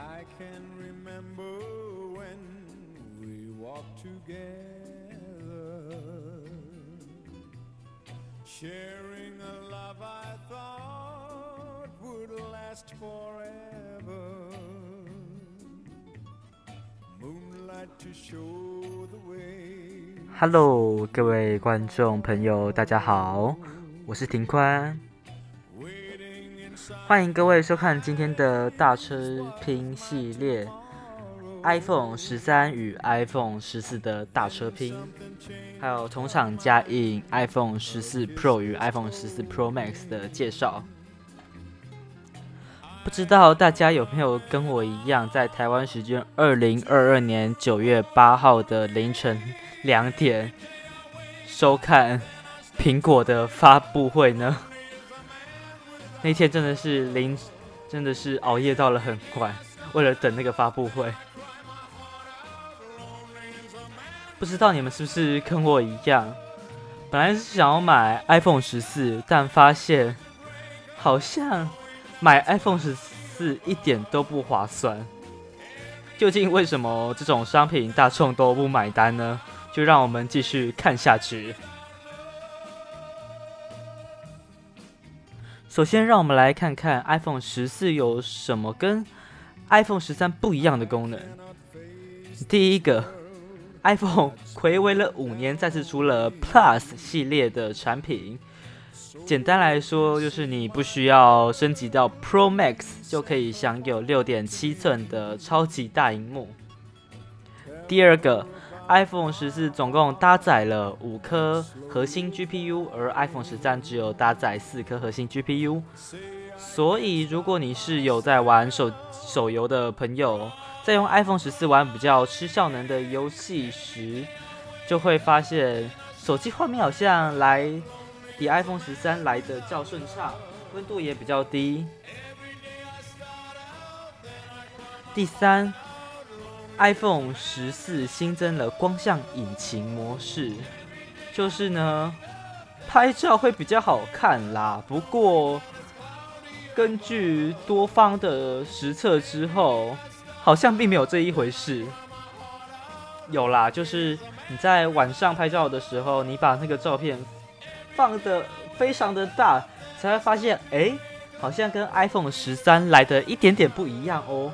I can remember when we walked together, sharing a love I thought would last forever. Moonlight to show the way. Hello，各位观众朋友，大家好，我是庭宽，欢迎各位收看今天的大车拼系列 ，iPhone 13与 iPhone 14的大车拼，还有同场加映 iPhone 14 Pro 与 iPhone 14 Pro Max 的介绍。不知道大家有没有跟我一样，在台湾时间2022年9月8号的凌晨2点收看苹果的发布会呢？那天真的是熬夜到了很晚，为了等那个发布会。不知道你们是不是跟我一样，本来是想要买 iPhone 14，但发现好像买 iPhone 14一点都不划算。究竟为什么这种商品大众都不买单呢？就让我们继续看下去。首先，让我们来看看 iPhone 14有什么跟 iPhone 13不一样的功能。第一个 ，iPhone 睽违了5年，再次出了 Plus 系列的产品。简单来说，就是你不需要升级到 Pro Max 就可以享有6.7寸的超级大萤幕。第二个 ，iPhone 14总共搭载了5颗核心 GPU， 而 iPhone 13只有搭载4颗核心 GPU。所以，如果你是有在玩手游的朋友，在用 iPhone 14玩比较吃效能的游戏时，就会发现手机画面好像比 iPhone 13来的较顺畅，温度也比较低。第三 ，iPhone 14新增了光像引擎模式，就是呢，拍照会比较好看啦。不过，根据多方的实测之后，好像并没有这一回事。有啦，就是你在晚上拍照的时候，你把那个照片放得非常的大，才会发现，好像跟 iPhone 13来的一点点不一样哦。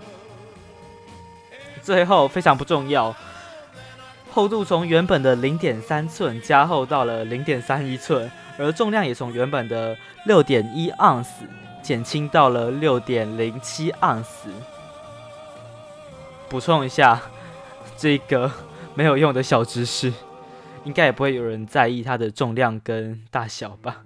最后非常不重要，厚度从原本的 0.3 寸加厚到了 0.31 寸，而重量也从原本的 6.1 盎司减轻到了 6.07 盎司。补充一下，这个没有用的小知识，应该也不会有人在意它的重量跟大小吧。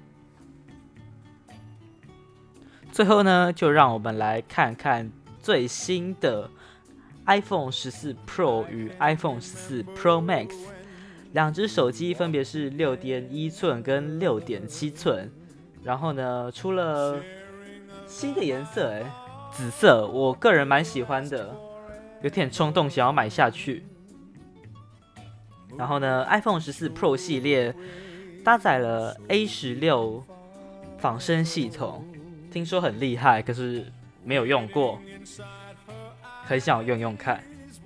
最后呢，就让我们来看看最新的 iPhone 14 Pro 与 iPhone 14 Pro Max， 两只手机分别是 6.1 寸跟 6.7 寸，然后呢，出了新的颜色，紫色，我个人蛮喜欢的，有点冲动想要买下去。然后呢 ，iPhone 14 Pro 系列搭载了 A16 仿生系统，听说很厉害，可是没有用过，很想用用看。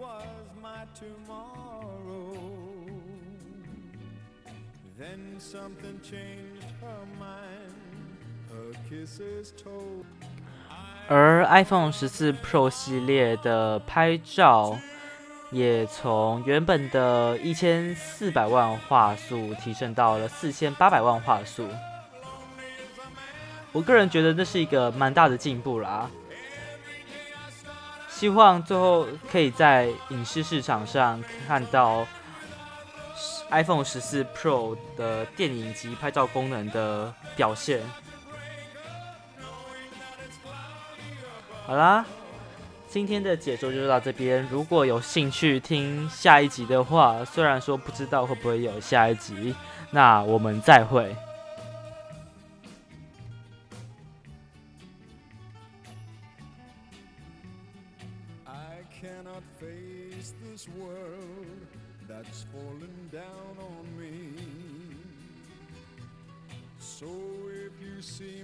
而 iPhone 14 Pro 系列的拍照也从原本的1400万画素提升到了4800万画素。我个人觉得这是一个蛮大的进步啦，希望最后可以在影视市场上看到 iPhone 14 Pro 的电影及拍照功能的表现。好啦，今天的解说就到这边。如果有兴趣听下一集的话，虽然说不知道会不会有下一集，那我们再会。 I cannot face this world that's fallen down on me. So if you see